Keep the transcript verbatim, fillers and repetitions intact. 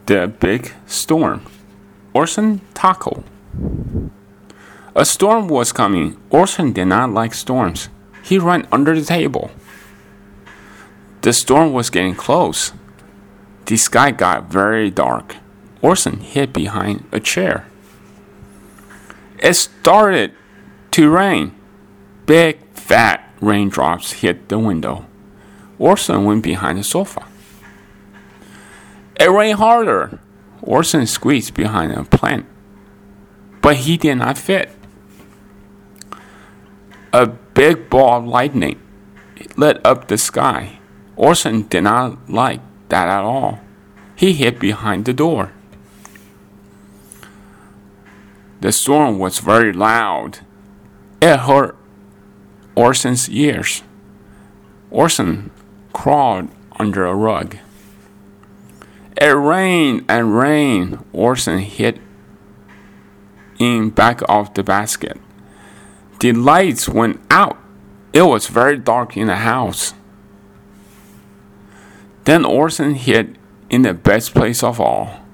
The Big Storm. Orson Taco. A storm was coming. Orson did not like storms. He ran under the table. The storm was getting close. The sky got very dark. Orson hid behind a chair. It started to rain. Big, fat raindrops hit the window. Orson went behind the sofa. It rained harder. Orson squeezed behind a plant, but he did not fit. A big ball of lightning lit up the sky. Orson did not like that at all. He hid behind the door. The storm was very loud. It hurt Orson's ears. Orson crawled under a rug. It rained and rained. Orson hid in back of the basket. The lights went out. It was very dark in the house. Then Orson hid in the best place of all.